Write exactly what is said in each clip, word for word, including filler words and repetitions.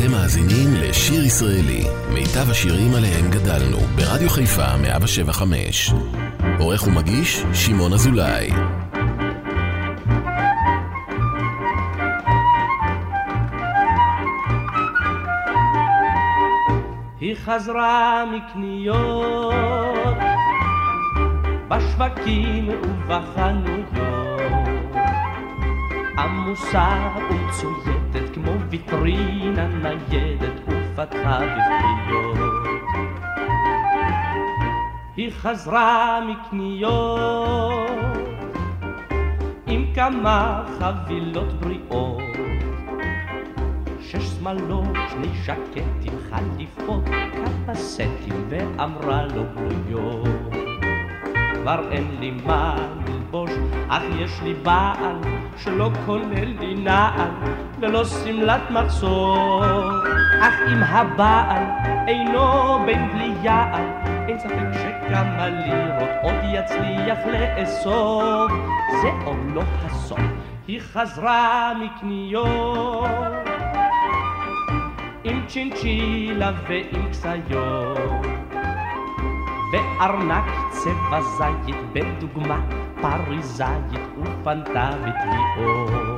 אתם מאזינים לשיר ישראלי, מיטב השירים עליהם גדלנו, ברדיו חיפה מאה שבע חמש. עורך ומגיש שמעון אזולאי. היא חזרה מקניות בשווקים ובחנויות, עמוסה ומצוידת כמו ויטרינה ניידת ופתחה בפיות. היא חזרה מקניות עם כמה חבילות בריאות, שש שמלות, שני שקטים, חליפות, קפסטים, ואמרה לו בלויות. כבר אין לי מה ללבוש, אך יש לי בעל שלא כולל לי נעל ולא סמלת מחסור. אך אם הבעל אינו בן בלי יעל, אין ספק שכמה לירות עוד יצליח לאסוף. זה עוד לא הסוף, היא חזרה מקניות עם צ'ינצ'ילה ועם קסיות, וארנק צבע זית בדוגמה פריזאית, ופנתה בתביעות.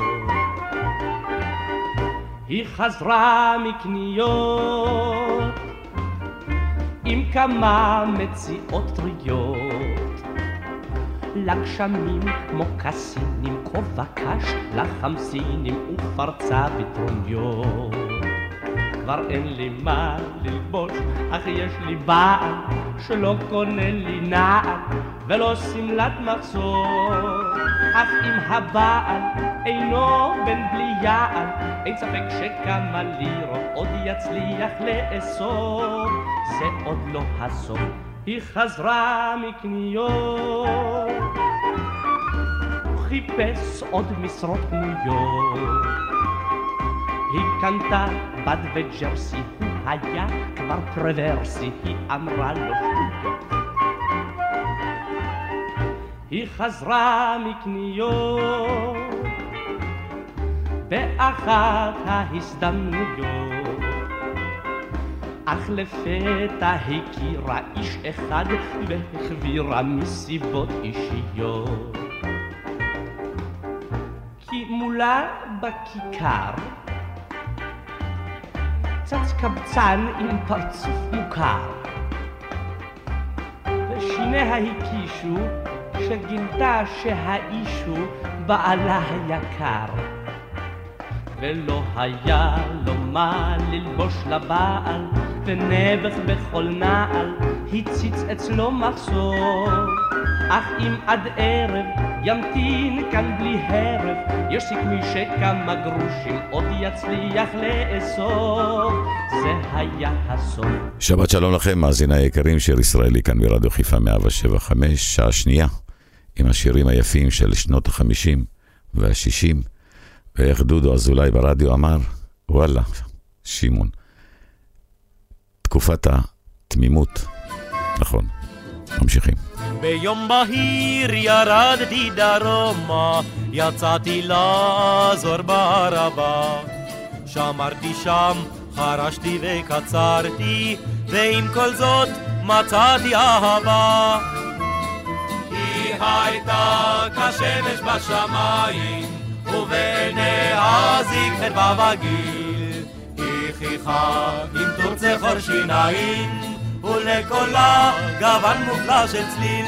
היא חזרה מקניות עם כמה מציאות טריות, לגשמים כמו קסינים, כובע קש לחמסינים, ופרצה בטרוניות. כבר אין לי מה ללבוש, אך יש לי בעל שלא קונה לי נעל ולא סמלת מחסור. אך אם הבעל אינו בן בלי יעל, אין ספק שכמה לירות עוד יצליח לאסוף. זה עוד לא הסוף, היא חזרה מקניות, הוא חיפש עוד משרות פנויות. היא קנתה בד וג'רסי, הוא היה כבר פרוורסי, היא אמרה לו שטויות. היא חזרה מקניות באחת ההזדמנויות, אך לפתע הכירה איש אחד והחבירה מסיבות אישיות. כי מולה בכיכר צץ קבצן עם פרצוף מוכר, ושיניה הקישו שגילתה שהאיש הוא בעלה היקר, ולא היה לו מה ללבוש לבעל, ונבח בכל נעל הציץ אצלו מחסור. אך אם עד ערב ימתין כאן בלי הרף, יש סיכוי שכמה גרושים עוד יצליח לאסוף. זה היה הסוף. שבת שלום לכם, מאזיני היקרים, שיר ישראלי כאן ברדיו חיפה מאה שבע חמש, שעה שנייה עם השירים היפים של שנות החמישים והשישים. ואיך דודו אזולאי ברדיו אמר, וואלה, שימון, תקופת התמימות. נכון, ממשיכים. ביום בהיר ירדתי דרומה, יצאתי לעזור בערבה, שמרתי שם, חרשתי וקצרתי, ועם כל זאת מצאתי אהבה. היא הייתה כשמש בשמיים, ובעיניה זיק חדווה וגיל, היא חיכה עם טור צחור שיניים, ולקולה גוון מופלא של צליל.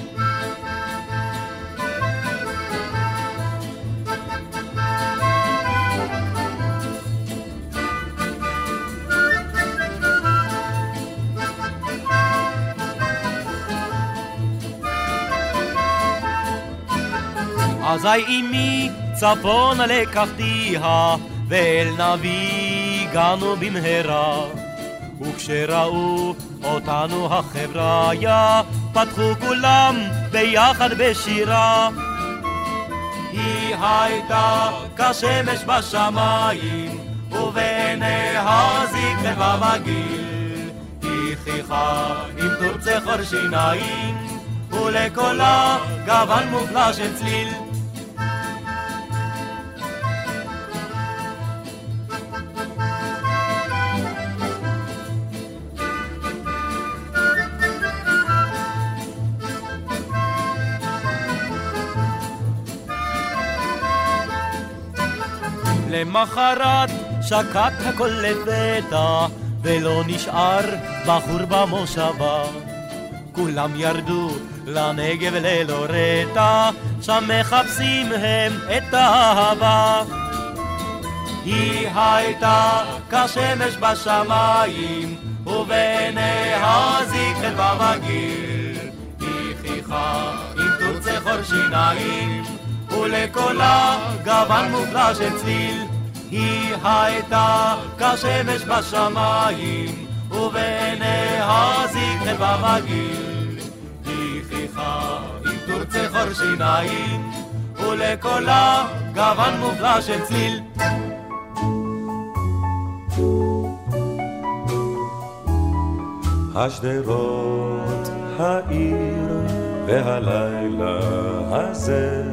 אזי אמי צפונה לקחתיה, ואל נביא הגענו במהרה, וכשראו אותנו החבריה, פתחו כולם ביחד בשירה. היא הייתה כשמש בשמיים, ובעיניה זיק חדווה וגיל, היא חיכה עם טור צחור שיניים, ולקולה גוון מופלא של צליל. למחרת שקט הכל לפתע, ולא נשאר בחור במושבה. כולם ירדו לנגב ללא רטע, שם מחפשים הם את האהבה. היא הייתה כשמש בשמיים, ובעיניה זיקת במגיל. היא חיכה עם תוצא חור שיניים, ולקולה גוון מופלא של צליל. היא הייתה כשמש בשמיים, ובעיניה זיקת במגיל. היא חיכה עם תוצא חור שיניים, ולקולה גוון מופלא של צליל. השדרות העיר והלילה הזה,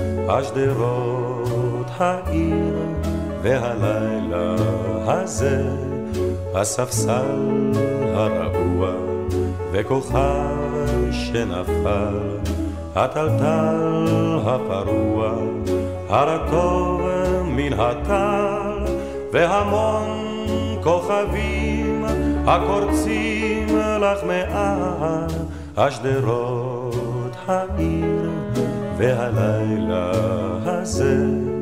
השדרות העיר והלילה הזה, הספסל הרעוע וכוכב שנפל, הטלטל הפרוע, הרטוב מן הטל, והמון כוכבים הקורצים לך מעל, השדרות העיר והלילה הזה,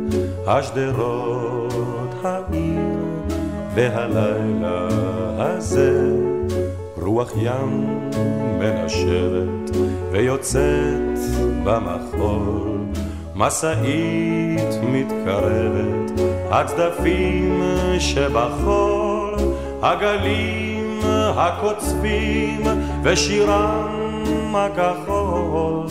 השדרות העיר והלילה הזה. רוח ים מנשבת ויוצאת במחול, מסעית מתקרבת, הצדפים שבחול, הגלים הקוצבים ושירם הכחול.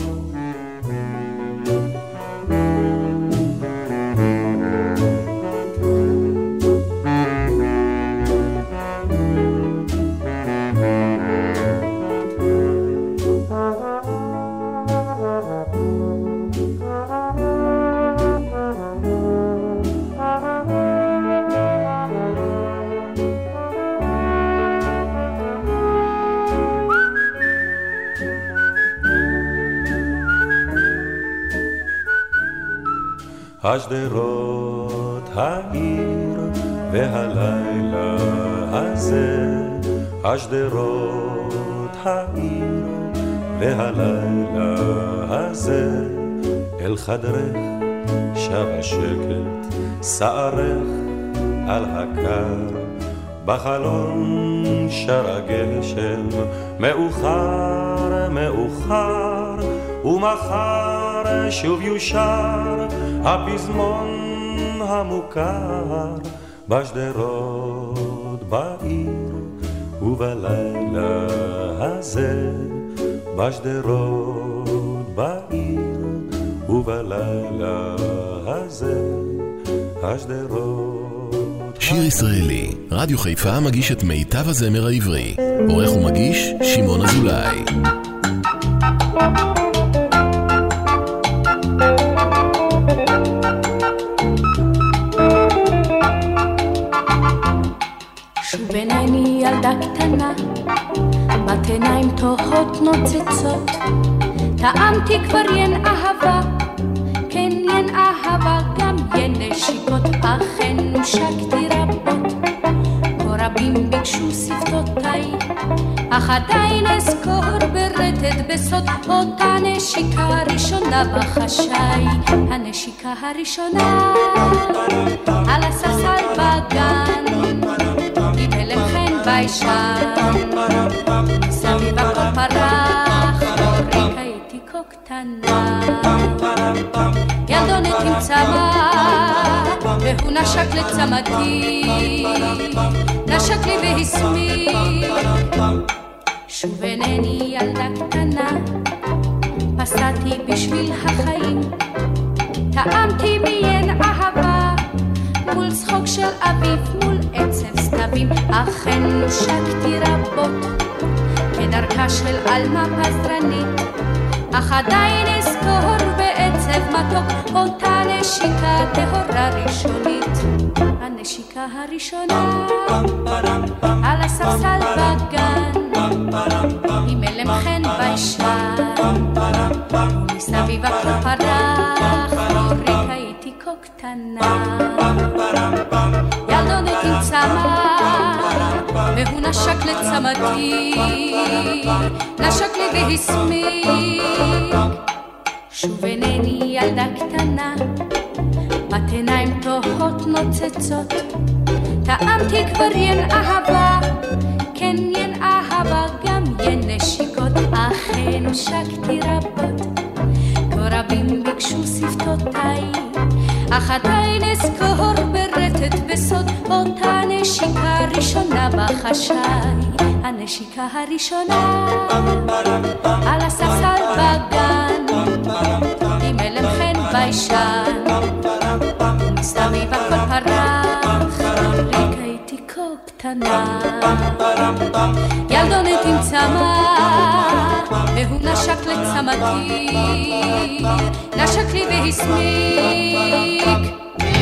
השדרות העיר והלילה הזה, השדרות העיר והלילה הזה. אל חדרך שב השקט, שערך על הקר, בחלון שר הגשם, מאוחר מאוחר, ומחר שוב יושר הפזמון המוכר, בשדרות בעיר ובלילה הזה, בשדרות בעיר ובלילה הזה, השדרות. שיר ישראלי, רדיו חיפה מגיש את מיטב הזמר העברי. עורך ומגיש שמעון אזולאי. שוב עיני ילדה קטנה, בת עיניים תוהות נוצצות, טעמתי כבר ין אהבה, כן ין אהבה, גם ין נשיקות, אכן נושקתי רבות, כה רבים ביקשו שפתותיי, אך עדיין אזכור ברטט בסוד אותה נשיקה הראשונה בחשאי, הנשיקה הראשונה על הספסל בגן, עם הלם חן ביישן, מסביב הכל פרח, אוריקה הייתי כה קטנה, ילדונת עם צמא, והוא נשק לצמתי, נשק לי והסמיק. שוב אינני ילדה קטנה, פסעתי בשביל החיים, טעמתי מיין אהבה, מול צחוק של אביב, מול עצב סתבים, אכן נושקתי רבות, כדרכה של אלמה פזרנית, אך עדיין אזכור בעצב מתוק, אותה נשיקה טהורה ראשונית, הנשיקה הראשונה על הספסל בגן, עם הלם חן ביישן, ומסביב הכל פרח, אוריקה הייתי כה קטנה. קטנה. ילדונת עם צמא, והוא נשק לצמתי, נשק לי והסמיק. שוב אינני ילדה קטנה, בת עיניים תוהות נוצצות, טעמתי כבר ין אהבה, כן ין אהבה, גם ין נשיקות, אכן שקתי רבות. כה רבים ביקשו שפתותיי, אך עדיין אזכור ברטט בסוד אותה נשיקה ראשונה בחשאי. הנשיקה הראשונה על הספסל בגן, עם אלם חן ביישן, מסתמי בכל פרח, ריקה איתי כה קטנה. ילדונת עם צמא, והוא נשק לצמתי, נשק לי והסמיק.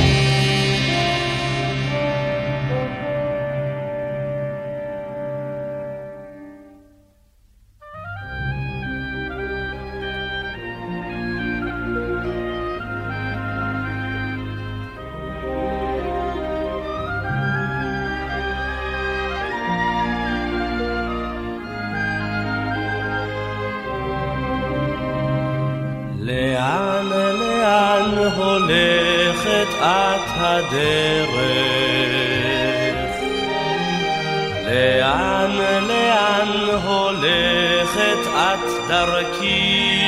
לאן, לאן הולכת את הדרך? לאן, לאן הולכת את דרכי?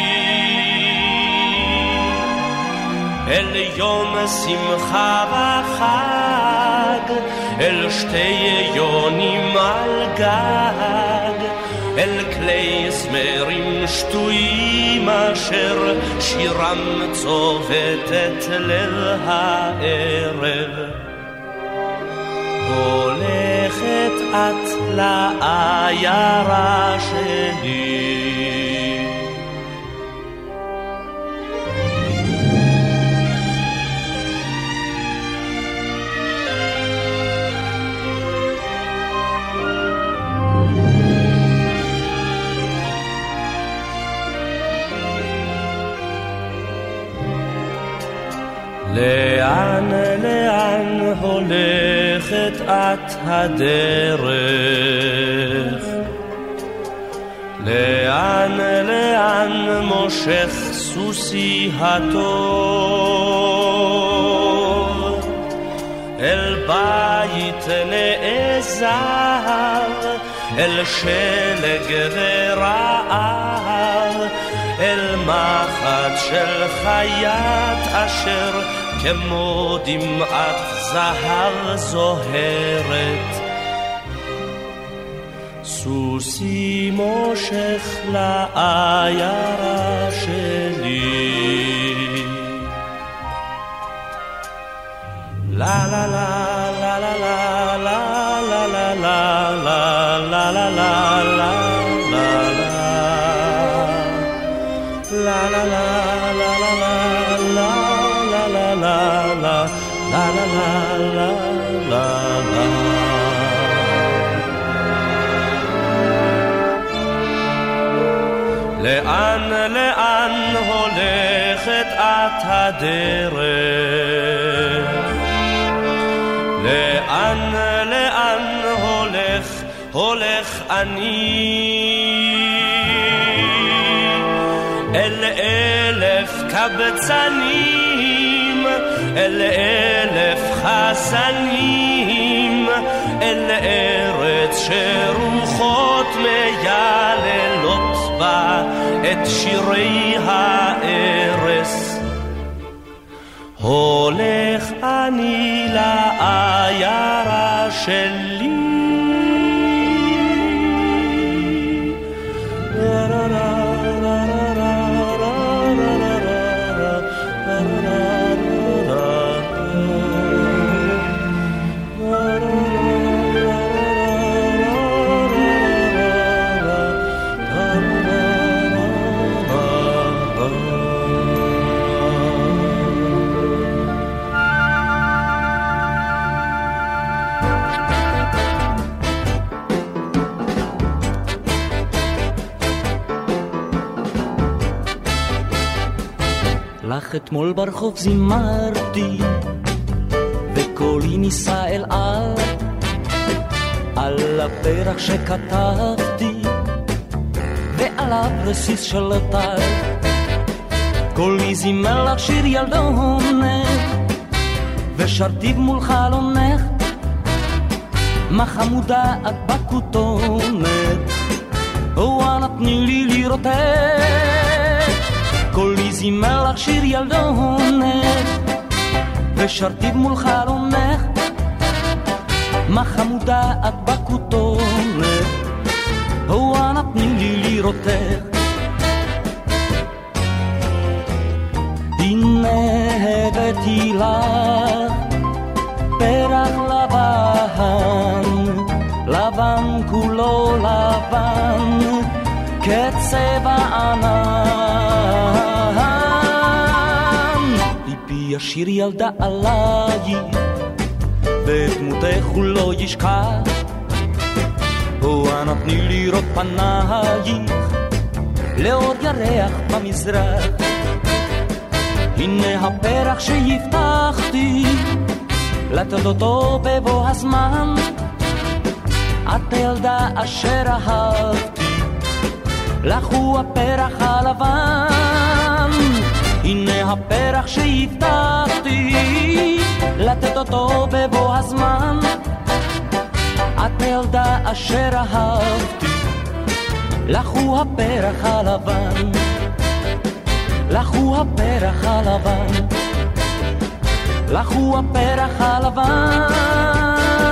אל יום שמחה וחג, אל שתי יונים על גג, אל כלי זמרים שטויים אשר שירם צובטת ליל הערב. הולכת את לעיירה שלי, לאן, לאן הולכת את הדרך? לאן, לאן מושך סוסי הטוב? אל בית נעזר, אל שלג ורעב, אל מחט של חיית אשר כמו דמעת זהב זוהרת. סוסי מושך לעיירה שלי, לה לה לה לה לה לה לה לה לה לה לה לה לה La la la la la la la la la la la la la la la la. לאן לאן הולכת את הדרך? לאן לאן הולך הולך אני? אל אלף קבצנים, אל אלף חסנים, אל ארץ שרוחות מייללות בה את שירי הארס. הולך אני לעיירה שלי, לך אתמול ברחוב זימרתי, וקולי ניסה אל על, על הפרח שכתבתי, ועליו רסיס של טל. קולי זימר לך שיר ילדונת, ושרתי מול חלונך, מה חמודה את בכותונת, וואלה תני לי לראותך. קולי זימר לך שיר ילדונת, ושרתי מול חלונך, מה חמודה את בכותונת, וואלה תני לי לראותך. הנה הבאתי לך פרח לבן, לבן כולו לבן, כצבע ענן. ליבי ישיר ילדה עלייך, ודמותך הוא לא ישכח, וואנה תני לראות פנייך, לאור ירח במזרח. הנה הפרח שהבטחתי, לתת אותו בבוא הזמן, את הילדה אשר אהבתי, לך הוא הפרח הלבן. הנה הפרח שהבטחתי, לתת אותו בבוא הזמן, את הילדה אשר אהבתי, לך הוא הפרח הלבן, לך הוא הפרח הלבן, לך הוא הפרח הלבן.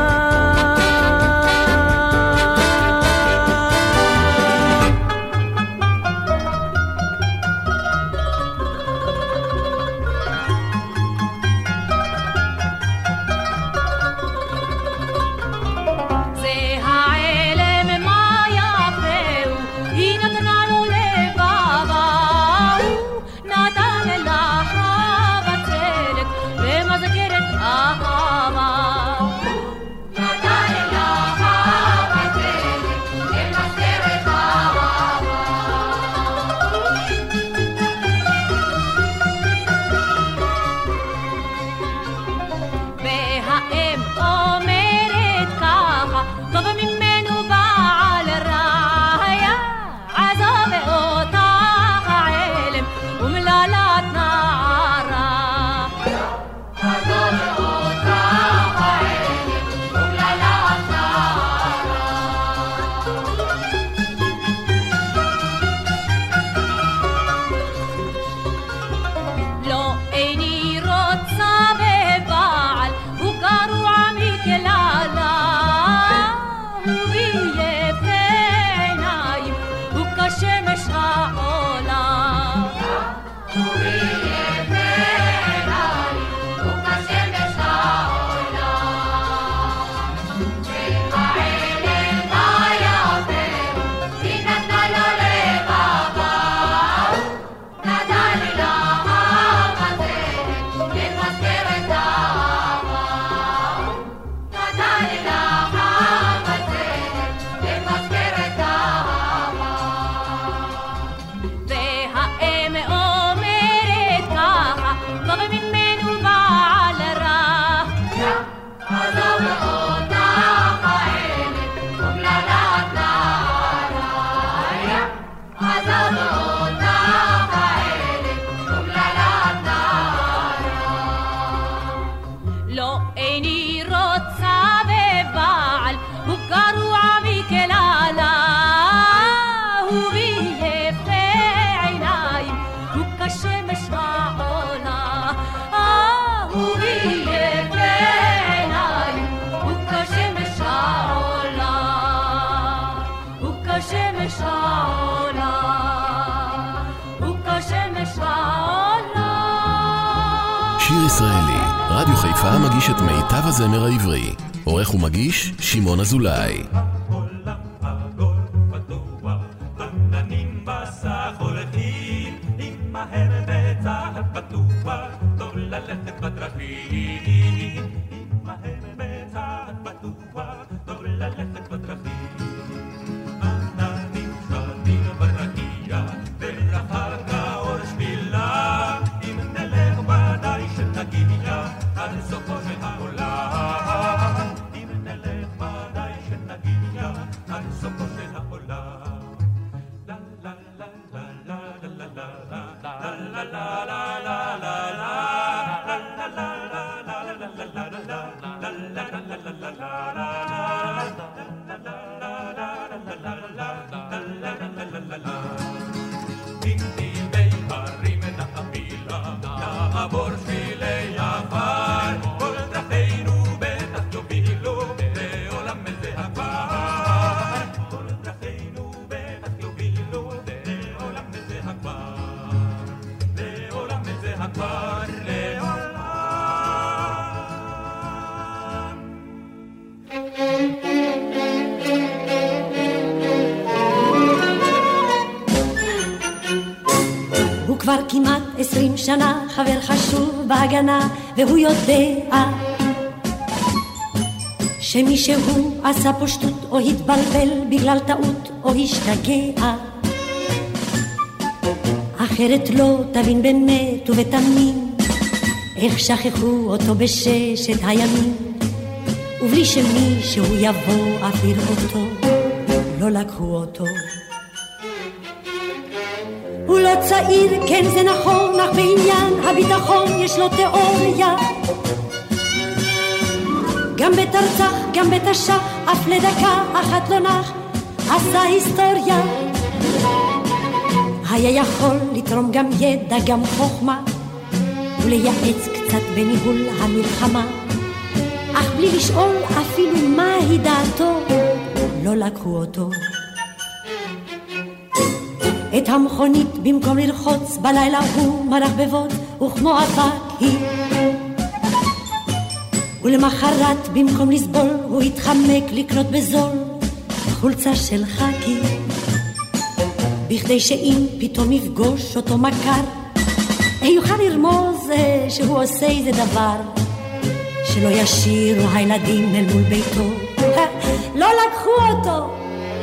שיר ישראלי, רדיו חיפה מגיש את מיטב הזמר העברי. עורך ומגיש שמעון אזולאי. עננים כבר כמעט עשרים שנה חבר חשוב בהגנה, והוא יודע שמישהו עשה פה שטות או התבלבל בגלל טעות או השתגע, אחרת לא תבין באמת ובתמים איך שכחו אותו בששת הימים, ובלי שמישהו יבוא אפילו אותו לא לקחו אותו. הוא לא צעיר, כן זה נכון, אך בעניין הביטחון יש לו תיאוריה, גם בתרצח, גם בתשח, אף לדקה אחת לא נח, עשה היסטוריה. היה יכול לתרום גם ידע, גם חוכמה, ולייעץ קצת בניהול המלחמה, אך בלי לשאול אפילו מהי דעתו, לא לקחו אותו. את המכונית במקום לרחוץ בלילה הוא מרח בבוץ, וכמו אבק היא, ולמחרת במקום לסבול הוא התחמק לקנות בזול חולצה של חקי, בכדי שאם פתאום יפגוש אותו מכר יוכל לרמוז שהוא עושה איזה דבר, שלא ישירו הילדים אל מול ביתו. לא לקחו אותו.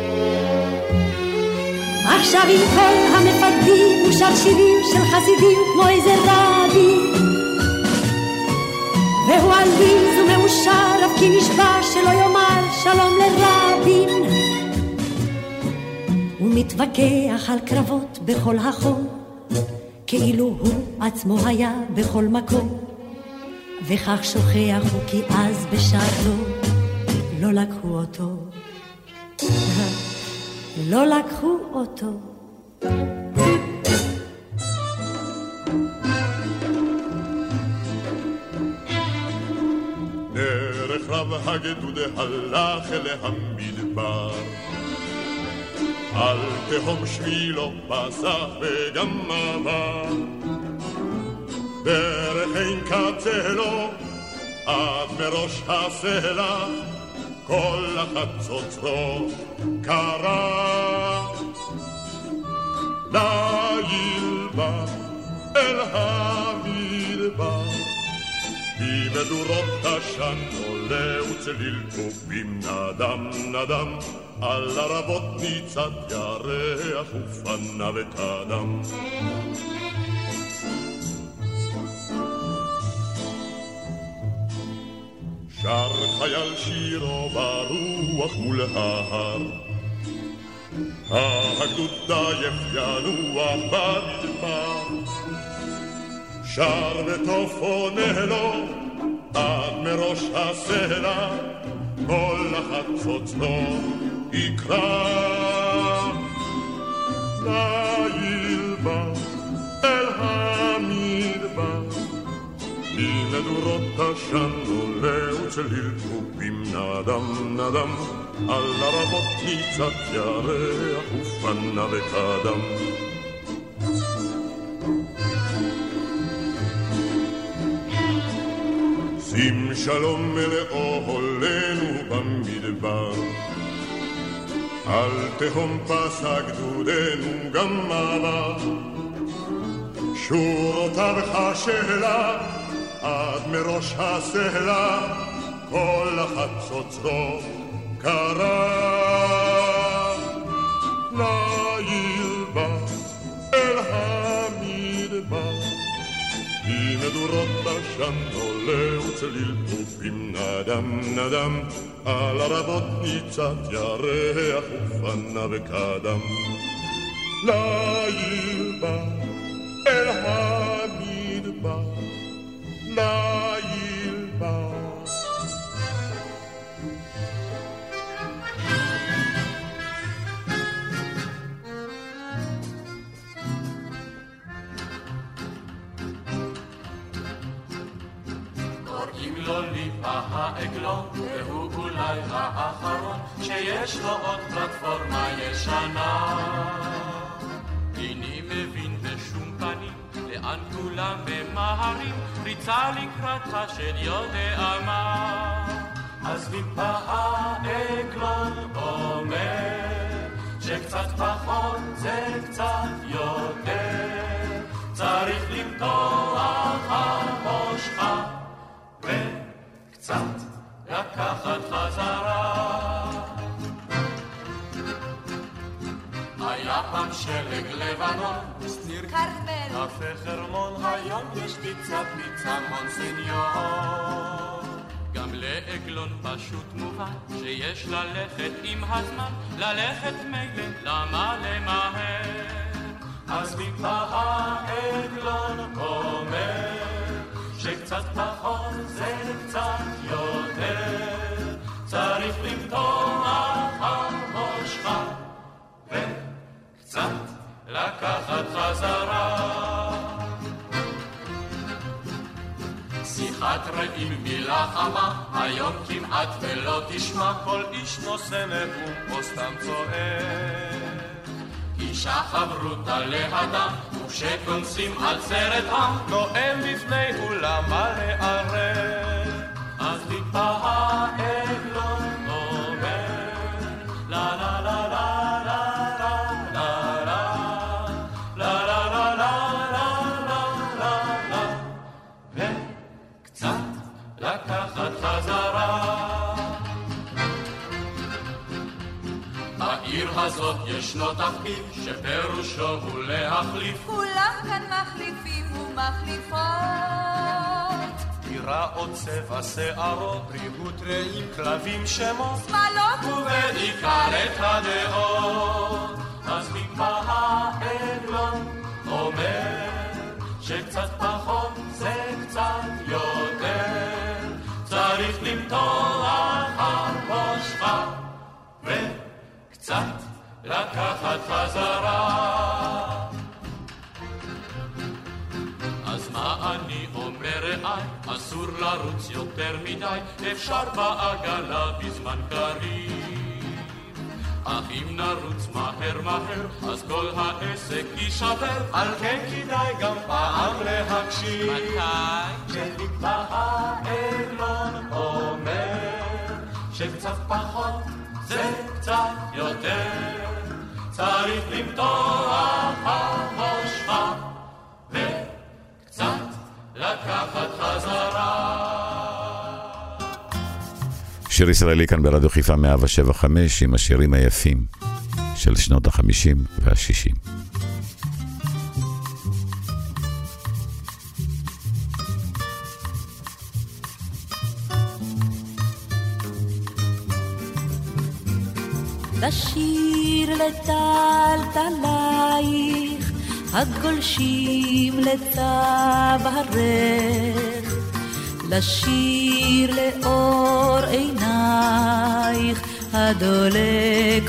עכשיו עם כל המפקדים הוא שר שירים של חסידים כמו איזה רבי, והוא עליז ומאושר אף כי נשבע שלא יאמר שלום לרבין, הוא מתווכח על קרבות בכל החום כאילו הוא עצמו היה בכל מקום, וכך שוכח הוא כי אז בשעתו לא לקחו אותו, לא לקחו אותו. דרך רב הגדוד הלך אל המדבר, על תהום שבילו פסח וגם עבר, דרך אין קצה לו עד מראש הסלע, כל החצוצרו קרא ליל בא אל המדבר, במדורות עשן עולה וצליל טובים נדם נדם, על הרבות ניצת ירח ופניו וקדם. שר חייל שירו ברוח מול ההר, הגדוד עייף ינוח במדבר, שר וטוב עונה לו עד מראש הסלע, כל החצוצרו יקרא ליל בא אל המדבר, ממדורות עשן עולה וצליל טובים נדם נדם, על הרבות ניצת ירח ופניו וקדם. שים שלום מלאו הולנו במדבר, על תהום פסק גדודנו גם עבר, שורותיו חשלה עד מראש הסלע, כל החצוצרו קרא ליל בא אל המדבר, ממדורות עשן עולה וצליל טובים נדם נדם, על הרבות ניצת ירח ופניו וקדם. ליל בא אל המדבר, ליל בא. קוראים לו ליפה העגלון, והוא אולי האחרון שיש לו עוד פלטפורמה ישנה. איני מבין בשום פנים לאן כולם ממהרים, ריצה לקראתך של יודע מה. אז ליפה העגלון אומר שקצת פחות זה קצת יותר, קצת פעם שלג לבנון, שניר כרמל, קפה חרמון, היום יש פיצה פיצה מונסניור. גם לעגלון פשוט מובן שיש ללכת עם הזמן, ללכת מילא, למה למהר? אז טיפה העגלון אומר שקצת פחות זה קצת יותר, צריך למתוח על ראשך וקצת לקחת חזרה. שיחת רעים מילה חמה, היום כמעט ולא תשמע, כל איש נושא נאום או סתם צועק. אישה חברותה לאדם, וכשכונסים על סרט עם, נואם בפני אולם מלא ערב. אז טיפה העגלון אומר, לה לה לה לה לה לה לה לה לה לה לה, וקצת לקחת חזרה. בעיר הזאת ישנו תפקיד שפירושו הוא להחליף, כולם כאן מחליפים ומחליפות, דירה או צבע שערות, בריאות רעים, כלבים שמות, שמלות ובעיקר את הדעות. אז טיפה העגלון אומר שקצת פחות זה קצת יותר, צריך למתוח על ראשך וקצת לקחת חזרה. אז מה אני אומר רעי, אסור לרוץ יותר מדי, אפשר בעגלה בזמן קריב, אך אם נרוץ מהר מהר אז כל העסק יישבר, על כן כדאי גם פעם להקשיב. מתי? שטיפה העגלון אומר שקצת פחות זה קצת יותר, צריך למתוח על ראשך וקצת לקחת חזרה. שיר ישראלי כאן ברדיו חיפה מאה שבע חמש עם השירים היפים של שנות החמישים והשישים. לשיר לטלטלייך הגולשים לצווארך, לשיר לאור עינייך הדולק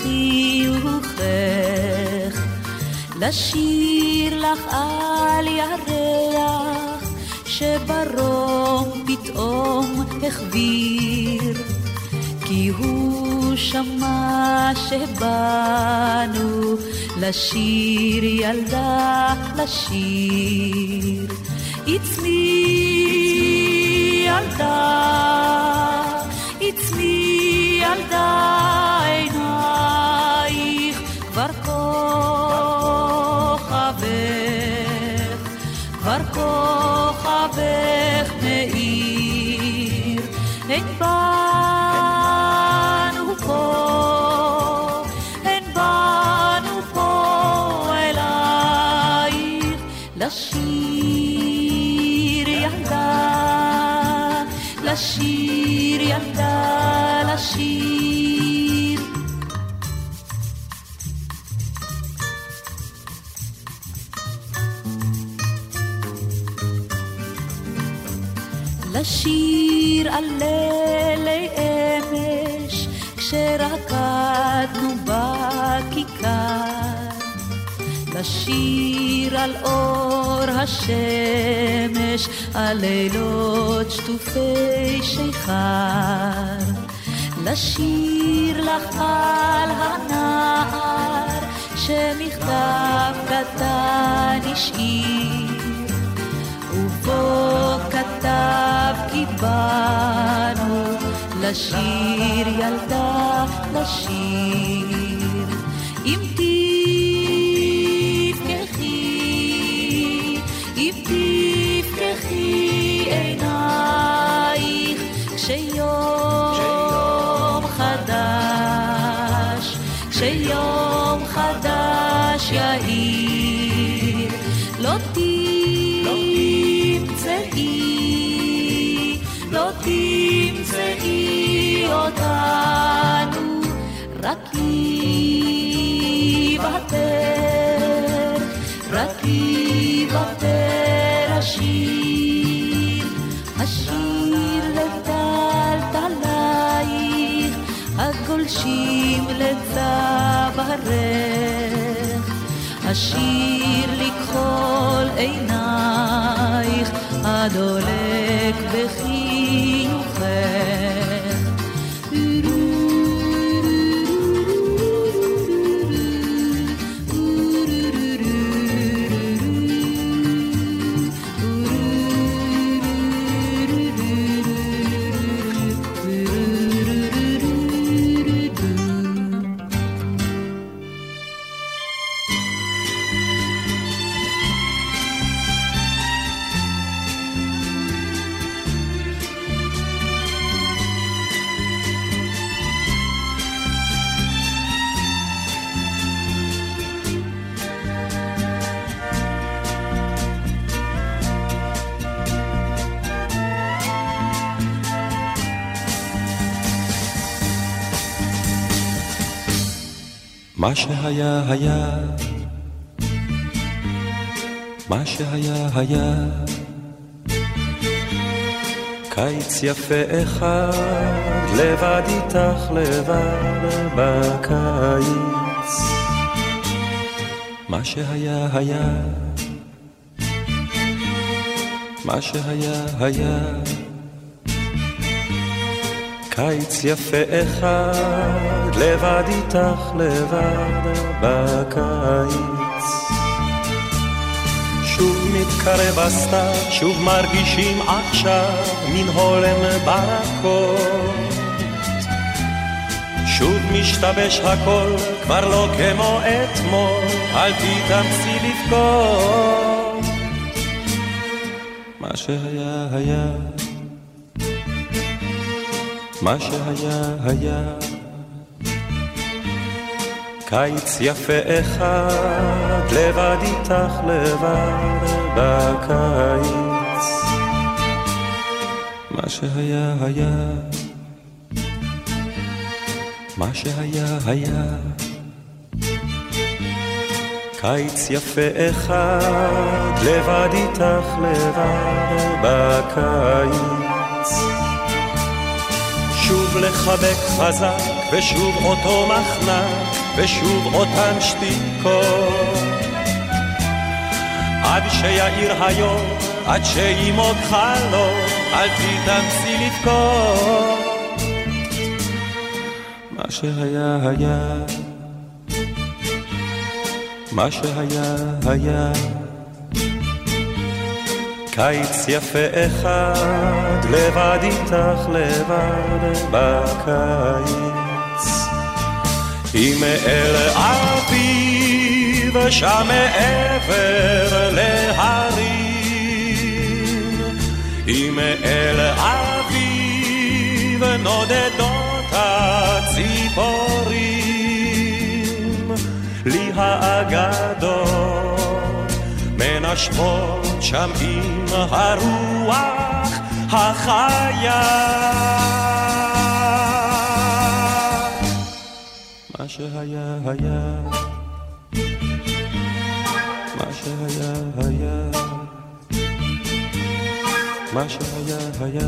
בחיוכך, לשיר לך על ירח שברום פתאום החביר, כי הוא שמע שבאנו לשיר ילדה לשיר. It's me ילדה, It's me ילדה, עינייך כבר כוכבך, כבר כוכבך מאיר, אין באנו פה, אין באנו פה אלייך לשיר ילדה, לשיר ילדה, לשיר. לשיר על לילי אמש כשרקדנו בכיכר, לשיר על אור השמש, על לילות שטופי שיכר, לשיר לך על הנער שמכתב קטן השאיר, ובו כתב כי באנו לשיר ילדה, לשיר. אם תפקחי, אם תפקחי עינייך כשיום חדש, כשיום חדש לשיר. לא תמצאי, לא תמצאי אותנו, רק יוותר, רק יוותר השיר, השיר לטלטלייך, הגולשים לצווארך, השיר לכחול עינייך, הדולק בחיוכך. מה שהיה היה, מה שהיה היה, קיץ יפה אחד, לבד איתך לבד בקיץ. מה שהיה היה, מה שהיה היה, קיץ יפה אחד, לבד איתך לבד בקיץ. שוב מתקרב הסתיו, שוב מרגישים עכשיו מן הולם ברקות. שוב משתבש הכל, כבר לא כמו אתמול, אל תתאמצי לבכות. מה שהיה היה, מה שהיה היה, קיץ יפה אחד, לבד איתך לבד בקיץ. מה שהיה היה, מה שהיה היה, קיץ יפה אחד, לבד איתך לבד בקיץ. שוב לחבק חזק, ושוב אותו מחנק, ושוב אותן שתיקות, עד שיעיר היום, עד שימוג חלום, אל תתאמצי לבכות. מה שהיה היה, מה שהיה היה, קיץ יפה אחד, לבד איתך לבד בקיץ. אם אל אביב שם מעבר להרים, אם אל אביב נודדות הציפורים, לי האגדות מנשבות שם עם הרוח החיה. מה שהיה היה, מה שהיה היה, מה שהיה היה,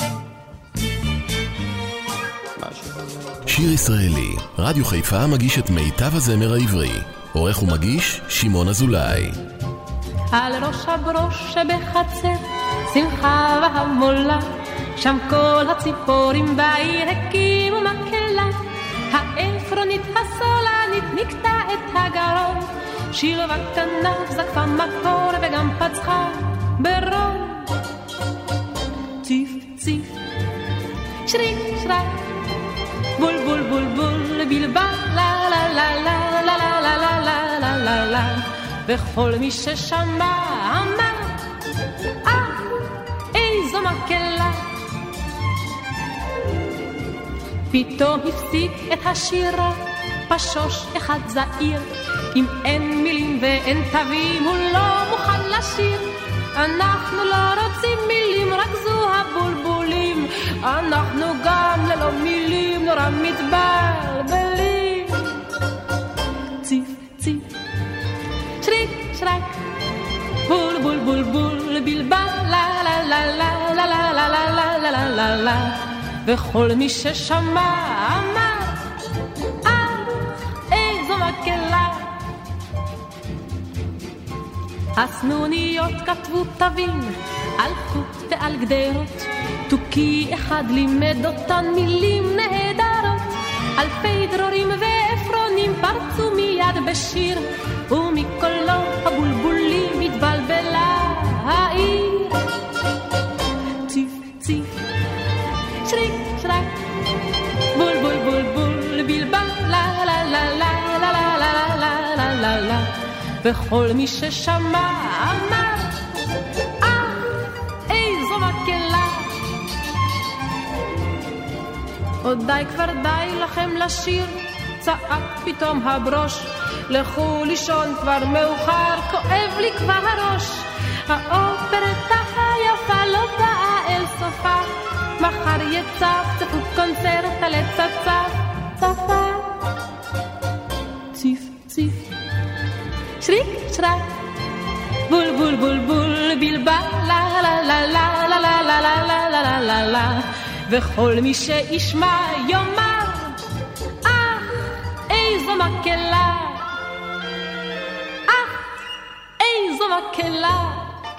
מה שהיה. שיר ישראלי, רדיו חיפה מגיש את מיטב הזמר העברי. עורך ומגיש שמעון אזולאי. על ראש הברוש שבחצר, שמחה והמולה, שם כל הציפורים בעיר הקימו מקהלה. האפרונית הסולנית נקטה את הגרון, שיר וכנף זקפה מקור וגם פצחה ברון. ציף ציף, שריק שרק, בול בול בול בול, בלבל לה לה לה לה לה לה לה לה לה לה לה. וכל מי ששמע אמר, אה, איזו מקהלה. פתאום הפסיק את השירה פשוש אחד זעיר, אם אין מילים ואין תווים הוא לא מוכן לשיר. אנחנו לא רוצים מילים, רק זו הבולבולים. אנחנו גם ללא מילים נורא מתבלבלים. ציף ציף שריק שרק בול בול בול בול בלבל לה לה לה לה לה לה לה לה לה לה לה לה. וכל מי ששמע אמר אך איזו מקהלה. הסנוניות כתבו תווים על חוט ועל גדרות, תוכי אחד לימד אותן מילים נהדרות. אלפי דרורים ואפרונים פרצו מיד בשיר, ומקולו הבולבולים התבלבלה העיר. ציף ציף שריק שרק בול בול בול בול בלבל לה לה לה לה לה לה לה לה לה לה לה. וכל מי ששמע אמר אה איזו מקהלה. עוד די כבר די לכם לשיר, צעק פתאום הברוש, לכו לישון כבר מאוחר, כואב לי כבר הראש. האופרטה היפה לא באה אל סופה, מחר יצפצפו קונצרט על הצצף צפה. ציף ציף שריק שרק בול בול בול בול בלבל לה לה לה לה לה לה לה לה לה לה לה. וכל מי שישמע יאמר אך איזו מקהלה, אך איזו מקהלה.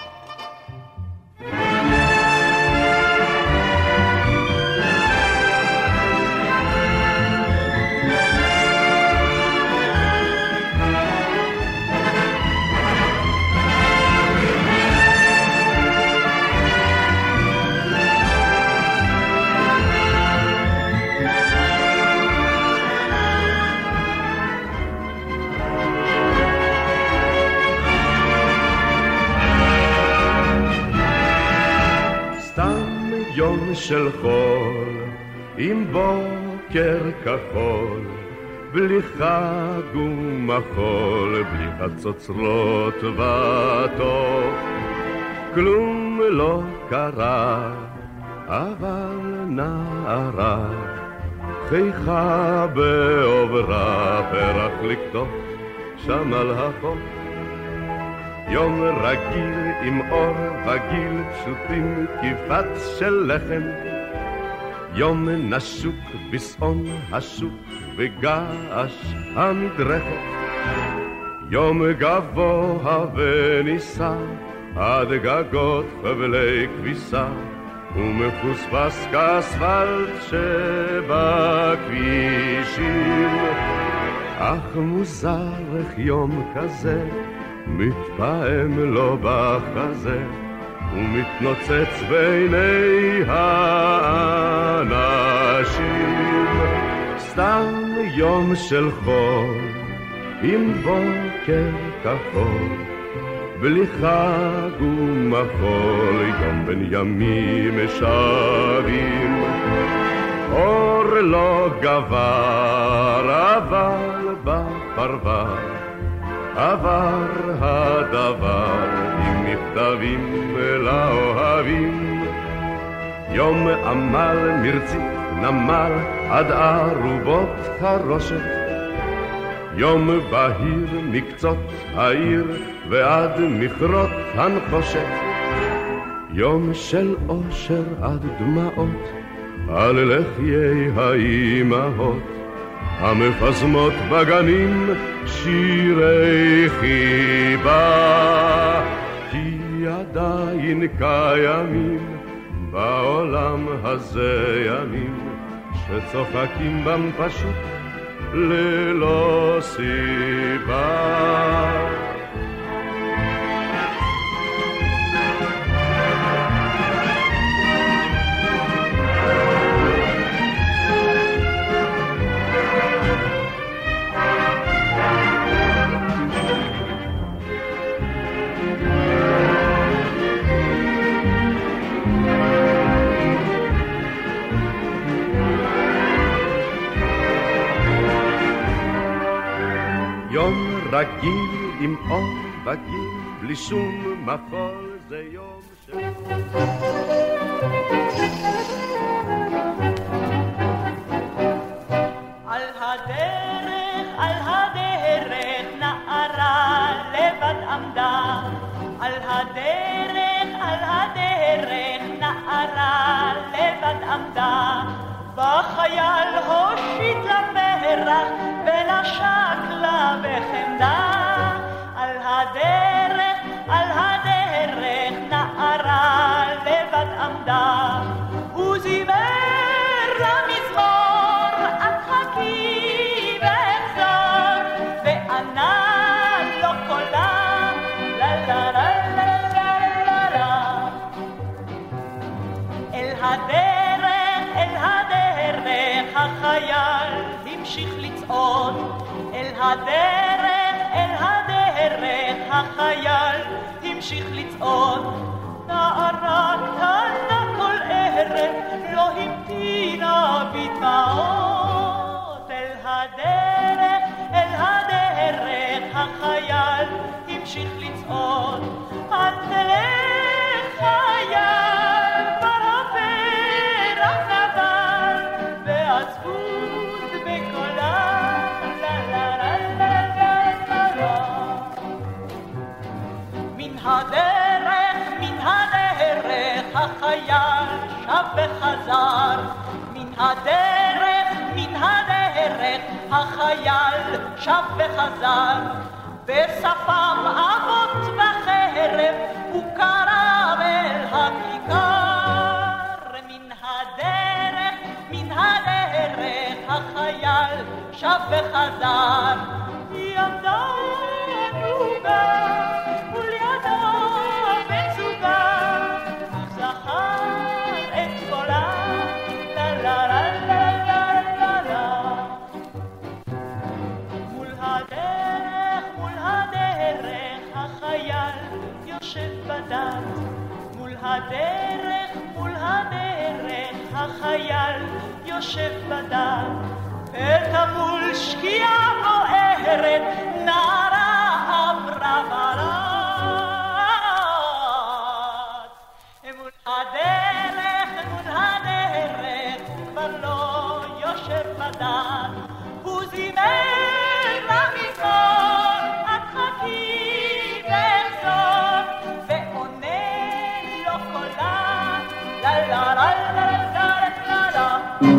יום של חול עם בוקר כחול, בלי חג ומחול, בלי חצוצרות וטוב. כלום לא קרה, אבל נערה חיכה בעוברה, פרח לקטוף שם על החוף. יום רגיל עם אור וגיל פשוטים כיפת של לחם, יום נשוק בסעון השוק וגעש המדרכת, יום גבוה וניסה עד גגות חבלי כביסה, ומחוספס כאספלט שבכבישים. אך מוזר איך יום כזה מתפעם לו בחזה, ומתנוצץ בעיני האנשים. סתם יום של חול עם בוקר כחול, בלי חג ומחול, יום בין ימים שווים. אור לא גבר אבל בפרווה, עבר הדבר עם מכתבים לאוהבים. יום עמל מרצית נמל עד ערובות חרושת, יום בהיר מקצות העיר ועד מכרות הנחושת, יום של אושר עד דמעות על לחיי האימהות, המפזמות בגנים שירי חיבה. כי עדיין קיימים בעולם הזה ימים שצוחקים בם פשוט ללא סיבה. יום רגיל עם אור בגיל, בלי שום מחול, זה יום של... על הדרך, על הדרך, נערה לבד עמדה. על הדרך, על הדרך, נערה לבד עמדה. בחייל הושיט לה פרח ולשק לה בחמדה. על הדרך, על הדרך, נערה לבד עמדה. הוא זימר למזמור, את חכי ואחזור, וענה לו קולה, לה לה לה לה לה לה. אל הדרך, אל הדרך, החייל המשיך לצעוד. אל הדרך, אל הדרך, החייל המשיך לצעוד. נערה קטנה כל ערב לא המתינה בדמעות. אל הדרך, אל הדרך, החייל המשיך לצעוד. אל תלך חייל, כבר הפרח נבל, ועצבות בקולה, לה לה לה לה לה לה. מן הדרך, מן הדרך, החייל שב וחזר. מן הדרך, מן הדרך, החייל שב וחזר. בשפם אבות בחרב הוא קרב אל הכיכר. מן הדרך, מן הדרך, החייל שב וחזר. ימדה נוגה ולידה מצוגה, הוא זכר את קולה, לה לה לה לה לה לה לה. מול הדרך, מול הדרך, החייל יושב בדד. מול הדרך, מול הדרך, החייל יושב בדד. את המול שקיעה בוערת, נערה עברה ברד. מול הדרך, מול הדרך, כבר לא יושב בדד. הוא זימר למזמור, את חכי ואחזור, ועונה לו קולה, לה לה לה לה לה לה לה.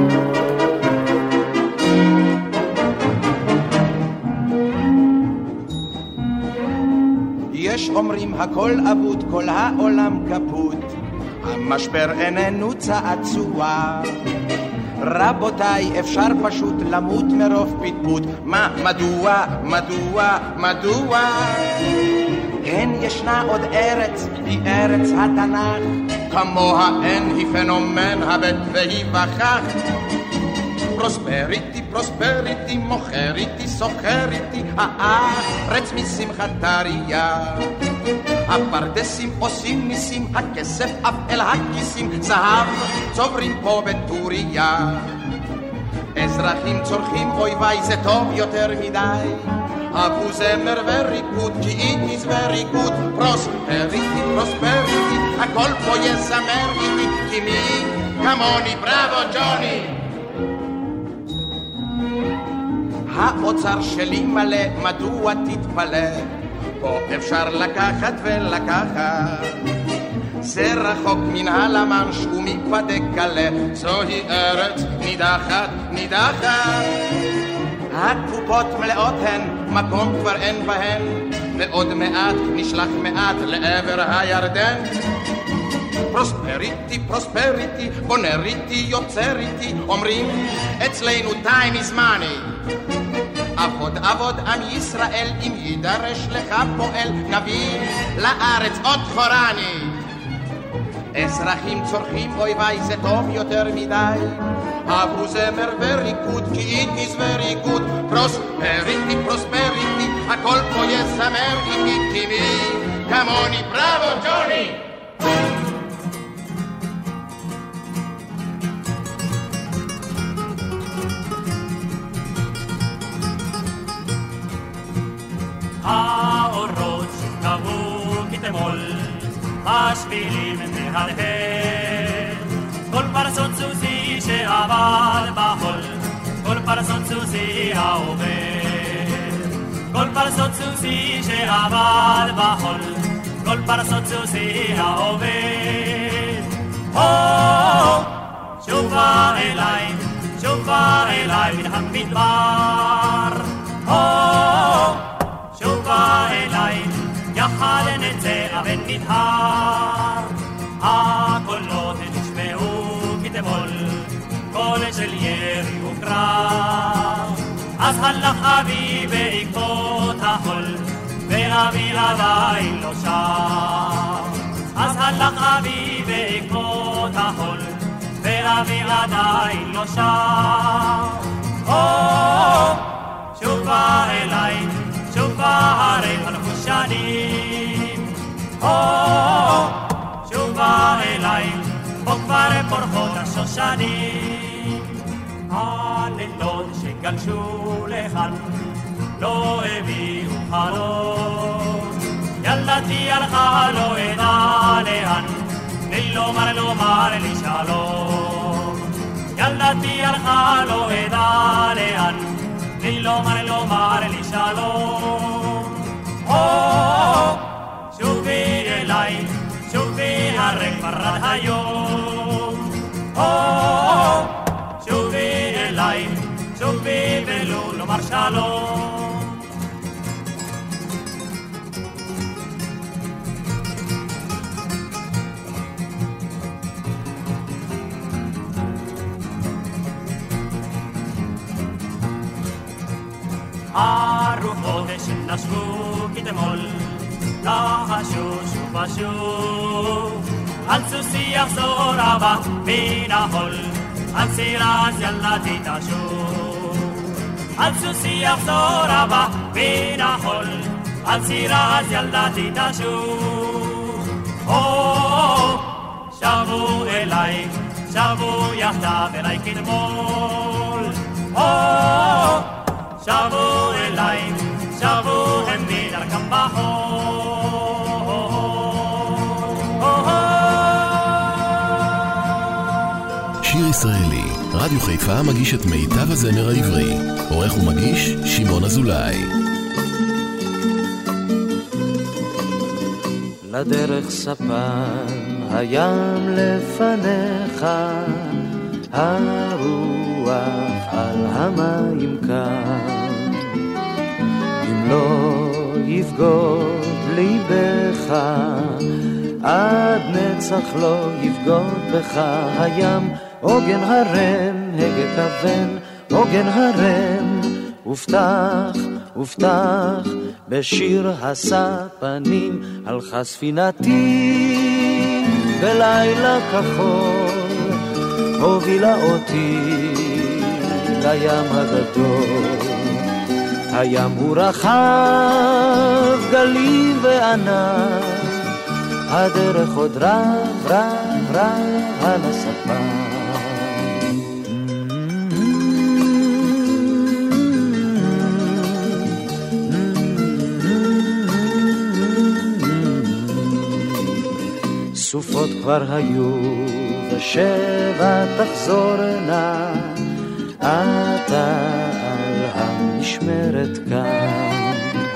יש אומרים הכל אבוד, כל העולם כפות, המשבר איננו צעצוע. רבותיי, אפשר פשוט למות מרוב פטפוט. מה, מדוע, מדוע, מדוע? כן, ישנה עוד ארץ, היא ארץ התנ"ך, כמוה אין, היא פנומן הבט והיא וכך. פרוספריטי, פרוספריטי, מוכריטי, סוחריטי, הארץ משמחת טריה. הפרדסים עושים ניסים, הכסף אף אל הכיסים, זהב צוברים פה בטוריה. אזרחים צורכים, אוי ואי זה טוב יותר מדי, אבו זמר וריקוד, כי it is very good. פרוספריטי, פרוספריטי, הכל פה יזמר איתי, כי מי כמוני, בראבו ג'וני. האוצר שלי מלא, מדוע תתפלא? פה אפשר לקחת ולקחת, זה רחוק מן הלמנש ומפדק קלה, זוהי ארץ נידחת, נידחת. הקופות מלאות הן, מקום כבר אין בהן, ועוד מעט נשלח מעט לעבר הירדן. פרוספריטי, פרוספריטי, בונריטי, יוצריטי, אומרים אצלנו time is money. עבוד עבוד עם ישראל, אם יידרש לך פועל, נביא לארץ עוד חורני. אזרחים צורכים, אוי ואי זה טוב יותר מדי, אבו זמר וריקוד, כי it is very good. פרוספריטי, פרוספריטי, הכל פה יזמר איתי, כי מי כמוני, בראבו ג'וני. השבילים מהדהד. כל פרסות סוסי שעבד בחול, כל פרסות סוסי העובד. כל פרסות סוסי שעבד בחול, כל פרסות סוסי העובד. הו, שובה אליי, שובה אליי מן המדבר. הו, שובה אליי, יחד נצא אבן נדהר. הקולות נשמעו כתמול, קול של ירי וקרב. אז הלך אבי בעקבות החול, ואבי עדיין לא שם. אז הלך אבי בעקבות החול, ואבי עדיין לא שם. או, שובה אליי, שובה הרי חלפו שנים. או, שובה אליי, פה כבר פורחות השושנים. הלילות שגלשו לכאן לא הביאו חלום. ילדתי הלכה לא אדע לאן, בלי לומר לומר לי שלום. ילדתי הלכה לא אדע לאן, בלי לומר לומר לי שלום. או, שובי אליי, שובי הרי כבר עד היום. או, שובי אליי, שובי ולא לומר שלום. הרוחות שנשבו כתמול, לחשו שוב ושוב. על סוסי יחזור אבא מן החול, על סירס ילדתי תשוב. על סוסי יחזור אבא מן החול, על סירס ילדתי תשוב. או, שבו אליי, שבו יחדיו אליי כתמול. או, שבו אליי, שבו הם מדרכם בחול. שיר ישראלי, רדיו חיפה מגיש את מיטב הזמר העברי. עורך ומגיש שמעון אזולאי. לדרך ספן, הים לפניך, הרוח על המים כאן. אם לא יבגוד ליבך, עד נצח לא יבגוד בך הים. עוגן הרם, הגה כוון, עוגן הרם, ופתח, ופתח, בשיר הספנים, הלכה ספינתי בלילה כחול, הובילה אותי לים הגדול. הים הוא רחב, גלים וענן, הדרך עוד רב, רב, רב על הספן. סופות כבר היו ושבע תחזורנה, אתה על המשמרת כאן.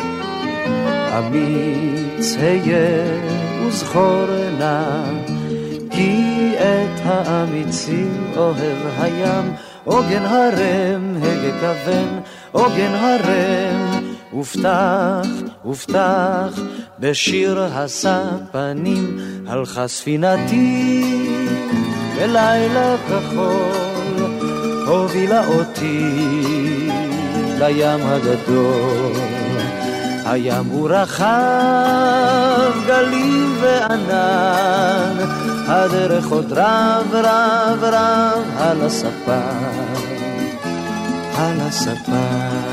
אמיץ היה וזכורנה, כי את האמיצים אוהב הים. עוגן הרם, הגה כוון, עוגן הרם, ופתח, ופתח, בשיר הספנים, הלכה ספינתי בלילה כחול, הובילה אותי לים הגדול. הים הוא רחב, גלים וענן, הדרך עוד רב, רב, רב, על הספן, על הספן.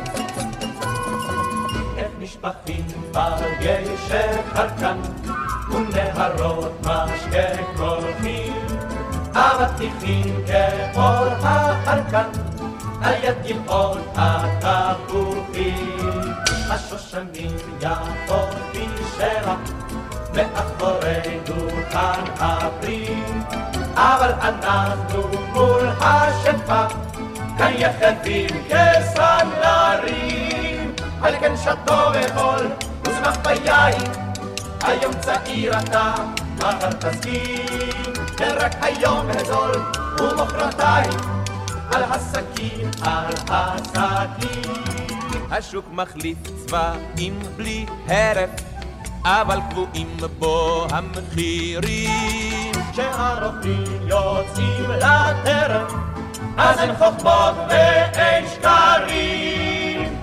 בגשם חלקן ונהרות משקה קולחים, אבטיחים כאור החרקן, על יד גבעות התפוחים. השושנים יפות בשרח, מאחורי דוכן הפרי, אבל אנחנו מול השפע, כאן יחדים כסנדלרים. על כן שתו וחול ושמח ביין, היום צעיר אתה, מחר תסכים, כן רק היום הזול ומחרתיים, על הסכין, על הסכין. השוק מחליף צבעים בלי הרף, אבל קבועים בו המחירים. כשהרופאים יוצאים לטרף, אז אין חוכמות ואין שקרים.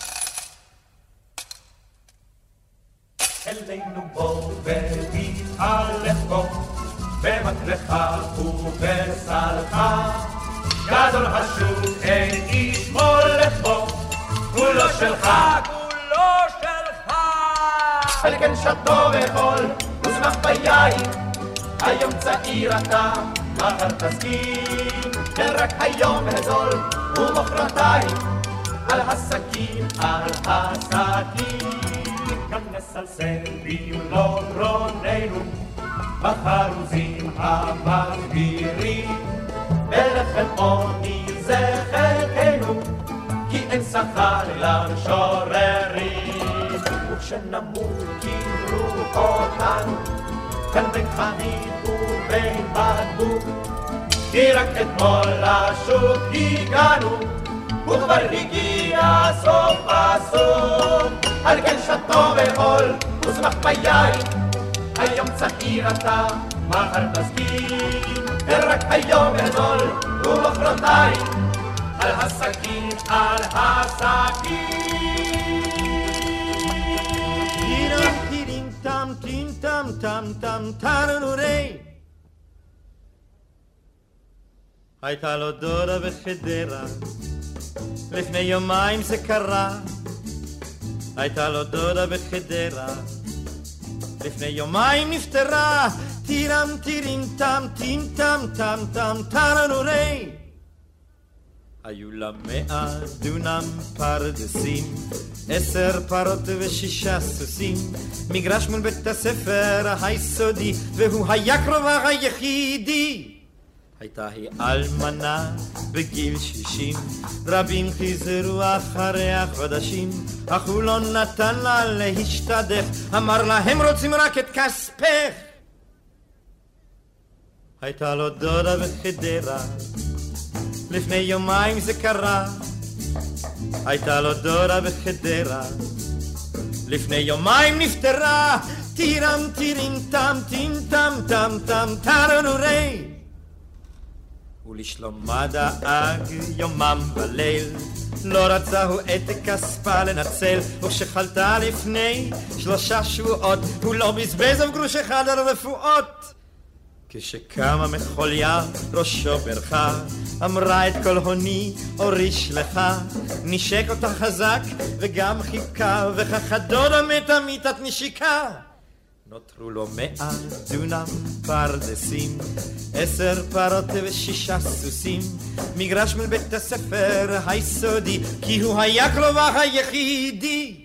אלינו בוא ותתהלך בו, במקלך ובסלך, גדול השוק אין איש מולך בו, כולו שלך, כולו שלך. על כן שתו וחול ושמח ביין, היום צעיר אתה, מחר תסכים, כן רק היום הזול ומחרתיים, על הסכין, על הסכין. גם נסלסל במלוא גרוננו, בחרוזים המסבירים, בלחם עוני זה חלקנו, כי אין שכר למשוררים. וכשנמות קברו אותנו, כאן בין חנית ובין בקבוק, כי רק אתמול לשוק הגענו, וכבר הגיע סוף הסוף. על כן שתו וחול ושמח ביין, היום צעיר אתה, מחר תסכים, ורק היום הזול ומחרתיים, על הסכין, על הסכין. טירם טירים טם טים טם טם טם טרנורי. הייתה לו דודה בחדרה, לפני יומיים זה קרה. הייתה לו דודה בחדרה, לפני יומיים נפטרה. טירם טירים טם טים טם טם טם טרנורי. היו לה מאה דונם פרדסים, עשר פרות ושישה סוסים, מגרש מול בית הספר היסודי, והוא היה קרובה היחידי. הייתה היא אלמנה בגיל שישים, רבים חיזרו אחריה חודשים, אך הוא לא נתן לה להשתדך, אמר לה הם רוצים רק את כספך. הייתה לו דודה בחדרה, לפני יומיים זה קרה. הייתה לו דודה בחדרה, לפני יומיים נפטרה. טירם טירים טם טים טם טם טם טרנורי. ולשלומה דאג יומם בליל, לא רצה הוא את כספה לנצל, וכשחלתה לפני שלושה שבועות, הוא לא בזבז אף גרוש אחד על רפואות. כשקמה מחוליה ראשו ברכה, אמרה את כל הוני אוריש לך, נשק אותה חזק וגם חיכה, וכך הדודה מתה מיתת נשיקה. נותרו לו מאה דונם פרדסים, עשר פרות ושישה סוסים, מגרש מול בית הספר היסודי, כי הוא היה קרובה היחידי.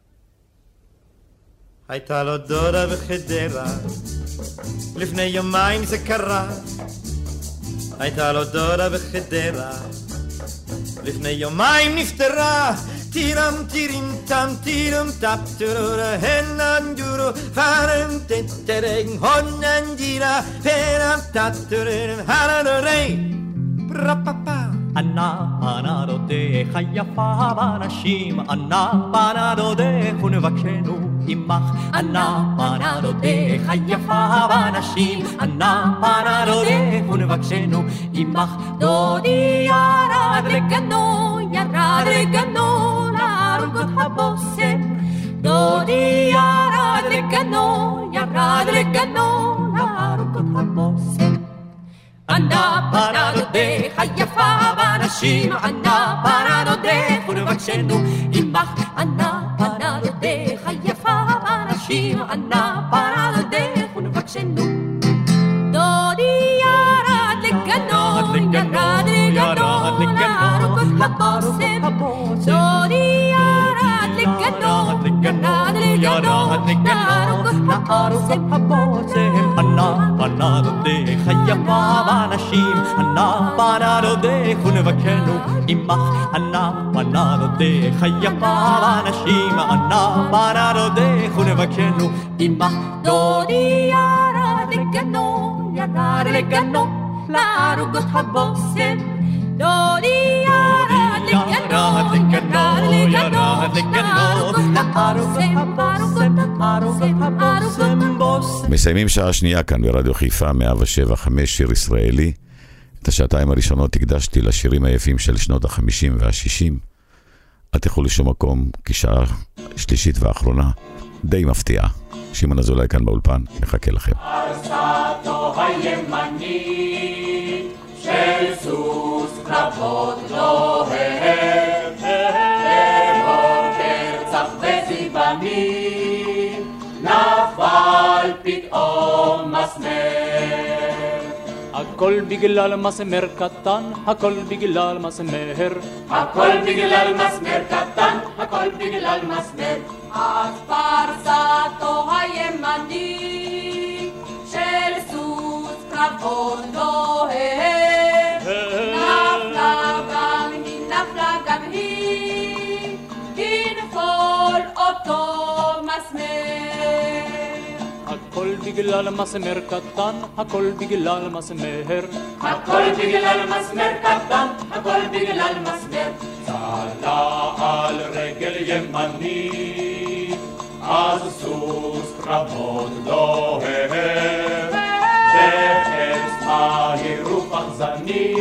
הייתה לו דודה בחדרה, לפני יומיים זה קרה. הייתה לו דודה בחדרה, לפני יומיים נפטרה. טירם טירים טם טירם טפ טורורה הננדורו פרם טטרג הוננדירה פרם טטורם הרנורי פרפפא. ענה ענה דודך היפה באנשים, ענה ענה דודך ונבקשנו עמך. ענה ענה דודך היפה באנשים, ענה ענה דודך ונבקשנו עמך. דודי ירד לגנו, ירד לגנו לארוגות הבושם. דודי ירד לגנו, ירד לגנו לארוגות הבושם. ענה פנה דודך היפה באנשים, ענה פנה דודך ונבקשנו עמך. ענה פנה דודך היפה באנשים, אנא פנה דודך ונבקשנו. דודי ירד לגנו, ירד לגנו, לארוכות הבושם. דודי ירד לגנו, ירד לגנו, לארוכות הבושם. אנא פנה דודך היפה באנשים, אנא פנה דודך ונבקשנו עמך. אנא פנה דודך היפה באנשים, אנא פנה דודך ונבקשנו עמך. דודי ירד לגנו, ירד לגנו, לארוכות הבושם. דודי ירד לגנו, ירד לגנו, לארוכות הבושם. מסיימים שעה שנייה כאן ברדיו חיפה מאה ושבע חמש שיר ישראלי. את השעתיים הראשונות הקדשתי לשירים היפים של שנות החמישים והשישים. אל תלכו לשום מקום, כי שעה שלישית ואחרונה די מפתיעה. שמעון אזולאי כאן באולפן, מחכה לכם. ארצתו הימנית של סוס קרבות לוהב, בבוקר צח וזיבנים נפל פתאום מסמר. הכל בגלל מסמר קטן, הכל בגלל מסמר, הכל בגלל מסמר קטן, הכל בגלל מסמר. אז פרסתו הימנית של סוס קרבות לוהב, נפלה גם היא, נפלה גם היא, תנפול אותו מסמר. הכל בגלל מסמר קטן, הכל בגלל מסמר, הכל בגלל מסמר קטן, הכל בגלל מסמר. צלה על רגל ימנית, אז סוס קרבות לוהב, בחץ מהיר ופחזני,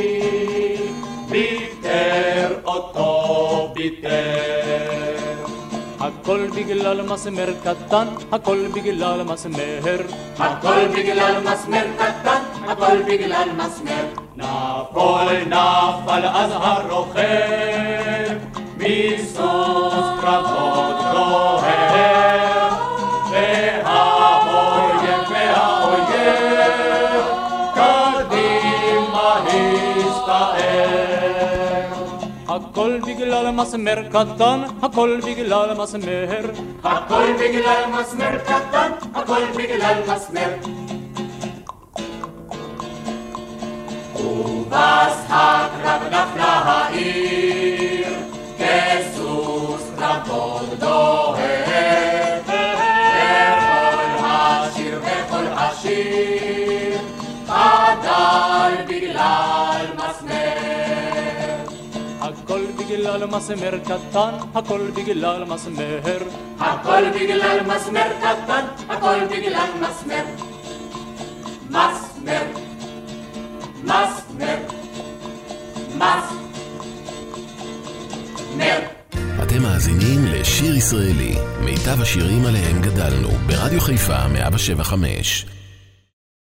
ביטר אותו ביטר. הכל בגלל מסמר קטן, הכל בגלל מסמר, הכל בגלל מסמר קטן, הכל בגלל מסמר. נפול נפל אז הרוכב, מסוס קרבות לוהב, והאויב והאויב קדימה הסתער. הכל בגלל מסמר קטן, הכל בגלל מסמר, הכל בגלל מסמר קטן, הכל בגלל מסמר. ובס הקרב נפלה העיר, כסוס קרבות דוהר, וכל השיר וכל השיר חדל בגלל מסמר. הכל בגלל מסמר קטן, הכל בגלל מסמר, הכל בגלל מסמר קטן, הכל בגלל מסמר. מסמר, מסמר, מסמר. אתם מאזינים לשיר ישראלי, מיטב השירים עליהם גדלנו, ברדיו חיפה מאה שבע חמש.